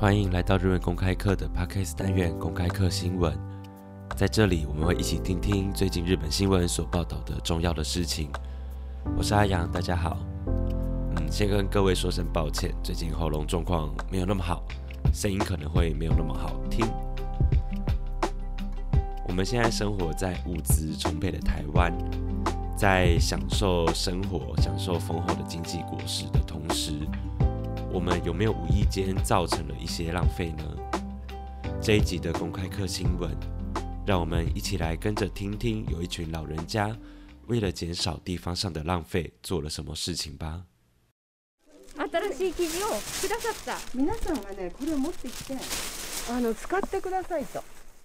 欢迎来到日文公开课的 Podcast 单元公开课新闻。在这里，我们会一起听听最近日本新闻所报道的重要的事情。我是阿阳，大家好。先跟各位说声抱歉，最近喉咙状况没有那么好，声音可能会没有那么好听。我们现在生活在物资充沛的台湾，在享受生活、享受丰厚的经济果实的同时，我们有没有无意间造成了一些浪费呢？这一集的公开课新闻，让我们一起来跟着听听有一群老人家为了减少地方上的浪费做了什么事情吧。 新しい生地をくださった。皆さんがね、これを持ってきて、使ってくださいと。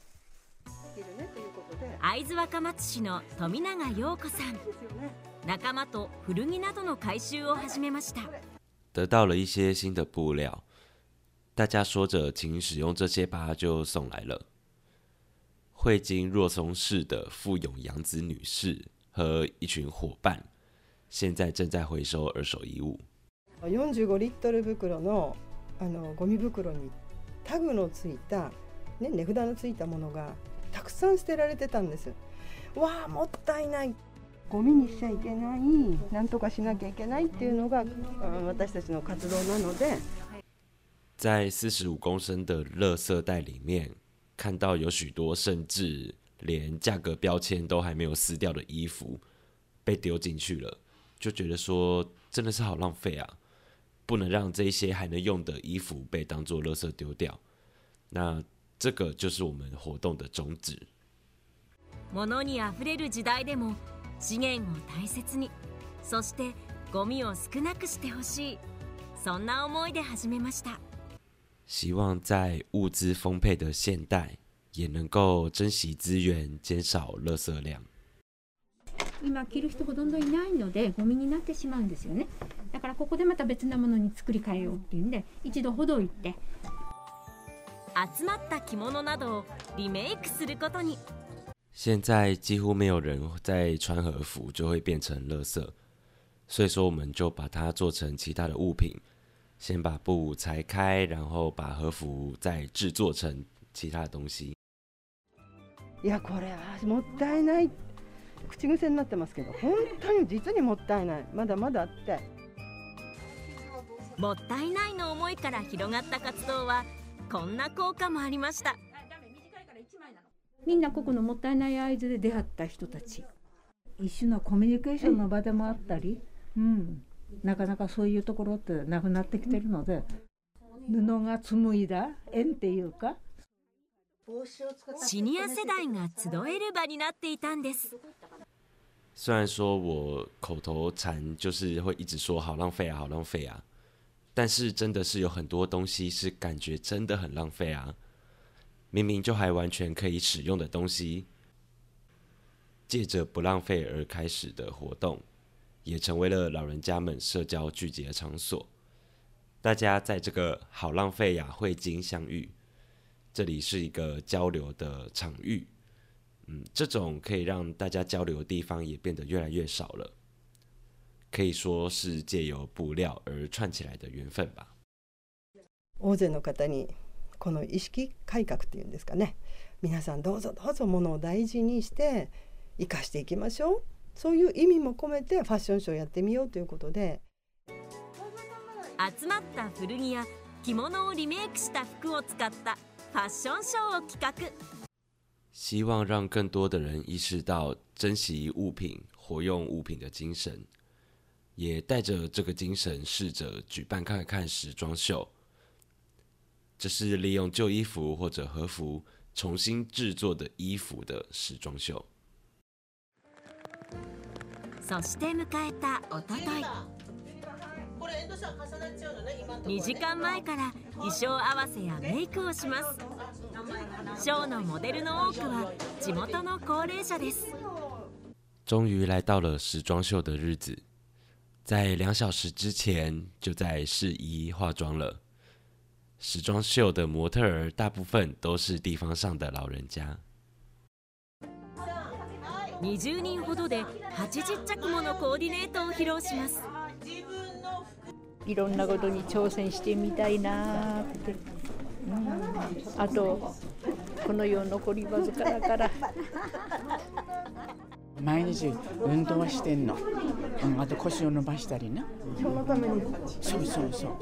会津若松市の富永陽子さん、仲間と古着などの回収を始めました。 得到了一些新的布料，大家说着请使用这些吧，就送来了。会津若松市的富永洋子女士和一群伙伴，现在正在回收二手衣物。 45リットル袋のゴミ袋にタグのついた、ね、値札のついたものがたくさん捨てられてたんです。わあ、もったいない。ゴミにしちゃいけない、なんとかしなきゃいけないっていうのが私たちの活動なので。 在45公升的垃圾袋里面，看到有许多甚至连价格标签都还没有撕掉的衣服被丢进去了，就觉得说真的是好浪费啊！不能让这些还能用的衣服被当作垃圾丢掉。那这个就是我们活动的宗旨。 物にあふれる時代でも資源を大切に、そしてゴミを少なくしてほしい、そんな思いで始めました。 希望在物资丰沛的现代，也能够珍惜资源，减少垃圾量。 今着る人ほとんどいないのでゴミになってしまうんですよね。だからここでまた別なものに作り変えようっていうんで、一度ほどいて集まった着物などをリメイクすることに。 现在几乎没有人在穿和服就会变成垃圾，所以说我们就把它做成其他的物品，先把布裁开，然后把和服再制作成其他的东西。 いや、これはもったいない、口癖になってますけど、本当に実にもったいない、まだまだあって。 もったいないの思いから広がった活動はこんな効果もありました。 みんなここのもったいない会津で出会った人たち、一種のコミュニケーションの場でもあったり、なかなかそういうところってなくなってきてるので、布が紡いだ縁っていうか、 シニア世代が集える場になっていたんです。 虽然说我口头禅就是会一直说好浪费啊，好浪费啊，但是真的是有很多东西是感觉真的很浪费啊。明明就还完全可以使用的东西，借着不浪费而开始的活动，也成为了老人家们社交聚集的场所。大家在这个好浪费呀会津相遇，这里是一个交流的场域。这种可以让大家交流的地方也变得越来越少了，可以说是借由布料而串起来的缘分吧。 大勢の方にこの意識改革っていうんですかね、皆さんどうぞどうぞ物を大事にして生かしていきましょう、そういう意味も込めてファッションショーやってみようということで、 集まった古着や着物をリメイクした服を使ったファッションショーを企画。 希望让更多的人意识到珍惜物品、活用物品的精神，也带着这个精神试着举办看看时装秀。这是利用旧衣服或者和服重新制作的衣服的时装秀。 そして迎えたおととい、2時間前から衣装合わせやメイクをします。ショーのモデルの多くは地元の高齢者です。 终于来到了时装秀的日子，在2小时之前就在试衣化妆了。时装秀的模特儿大部分都是地方上的老人家。 20人ほどで80着ものコーディネートを披露します。 いろんなことに挑戦してみたいなってあとこの世残りわずかだから。 毎日運動はしてんの、あと腰を伸ばしたりね。 今日のために。 そう。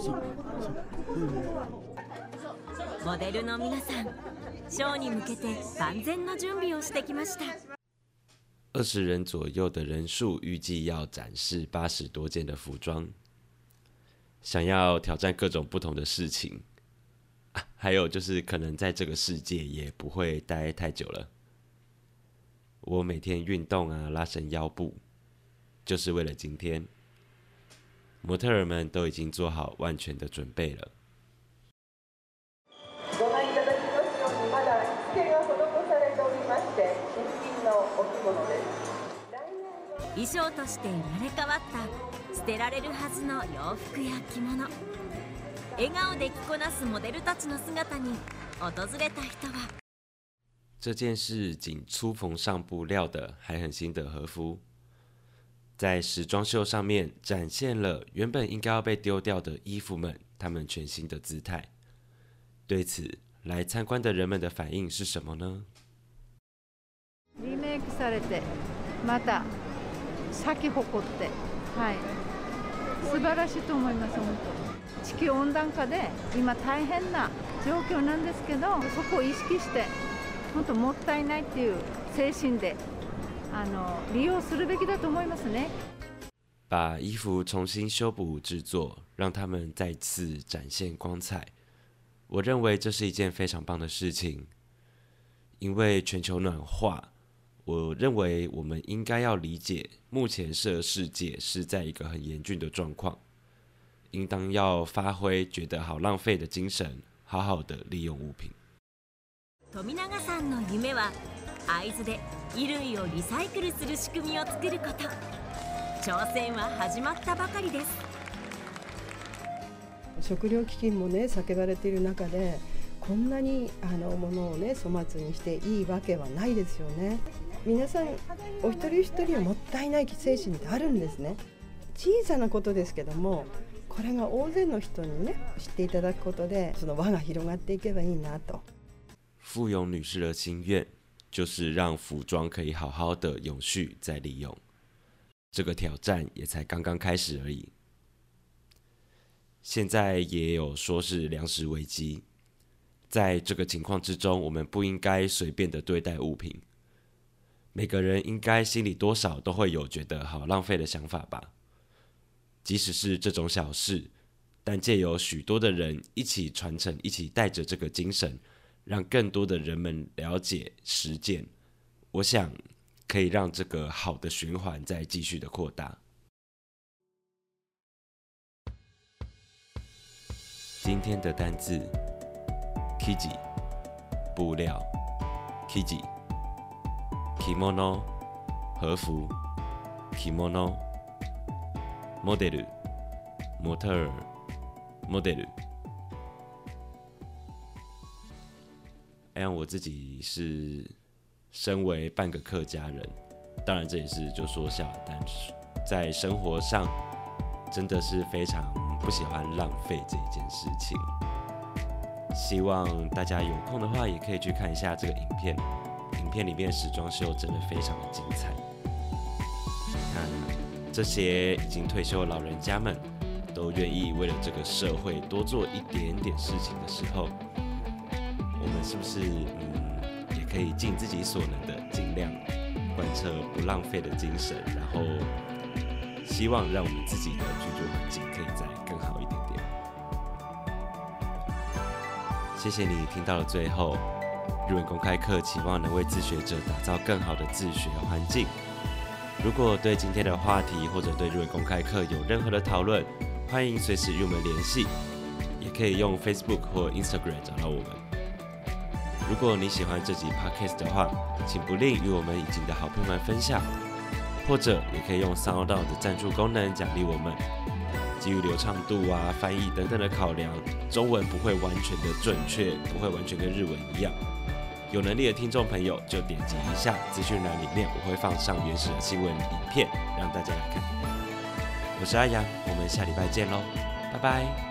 モデルの皆さん、ショーに向けて万全の準備をしてきました。 20人左右的人数，预计要展示80多件的服装。想要挑战各种不同的事情，还有就是可能在这个世界也不会待太久了。我每天运动啊，拉伸腰部，就是为了今天。模特儿们都已经做好万全的准备了。 ご覧いただきますように、まだ着付けが施されておりまして、新品のお着物です。 衣装として生まれ変わった捨てられるはずの洋服や着物。笑顔で着こなすモデルたちの姿に訪れた人は。 这件是仅初缝上布料的还很新的和服，在时装秀上面展现了原本应该要被丢掉的衣服们他们全新的姿态。对此，来参观的人们的反应是什么呢？ リメイクされて、また咲き誇って、はい、素晴らしいと思います。本当。地球温暖化で今大変な状況なんですけど、そこを意識して。本当もったいないっていう精神で利用するべきだと思いますね。 把衣服重新修补制作，让它们再次展现光彩。我认为这是一件非常棒的事情，因为全球暖化，我认为我们应该要理解，目前这世界是在一个很严峻的状况，应当要发挥觉得好浪费的精神，好好的利用物品。 富永さんの夢は会津で衣類をリサイクルする仕組みを作ること。挑戦は始まったばかりです。 食料危機もね叫ばれている中で、こんなに物をね粗末にしていいわけはないですよね。皆さんお一人一人はもったいない精神ってあるんですね。小さなことですけども、これが大勢の人にね知っていただくことで、その輪が広がっていけばいいなと。 富永女士的心愿就是让服装可以好好的永续再利用，这个挑战也才刚刚开始而已。现在也有说是粮食危机，在这个情况之中，我们不应该随便的对待物品，每个人应该心里多少都会有觉得好浪费的想法吧。即使是这种小事，但借由许多的人一起传承，一起带着这个精神，让更多的人们了解实践，我想可以让这个好的循环再继续的扩大。今天的单字 Kiji 布料 Kiji Kimono 和服 Kimono Model 模特儿 Model。我自己是身为半个客家人，当然这也是就说笑，但是在生活上真的是非常不喜欢浪费这一件事情。希望大家有空的话也可以去看一下这个影片，影片里面时装秀真的非常的精彩。那这些已经退休的老人家们都愿意为了这个社会多做一点点事情的时候，我们是不是也可以尽自己所能的，尽量贯彻不浪费的精神，然后希望让我们自己的居住环境可以再更好一点点。谢谢你听到了最后，日文公开课期望能为自学者打造更好的自学环境。如果对今天的话题或者对日文公开课有任何的讨论，欢迎随时与我们联系，也可以用 Facebook 或 Instagram 找到我们。如果你喜欢这集 Podcast 的话，请不吝与我们已经的好朋友们分享，或者也可以用 SoundOn 的赞助功能奖励我们。基于流畅度啊、翻译等等的考量，中文不会完全的准确，不会完全跟日文一样。有能力的听众朋友就点击一下资讯栏里面，我会放上原始的新闻影片让大家来看。我是阿阳，我们下礼拜见喽，拜拜。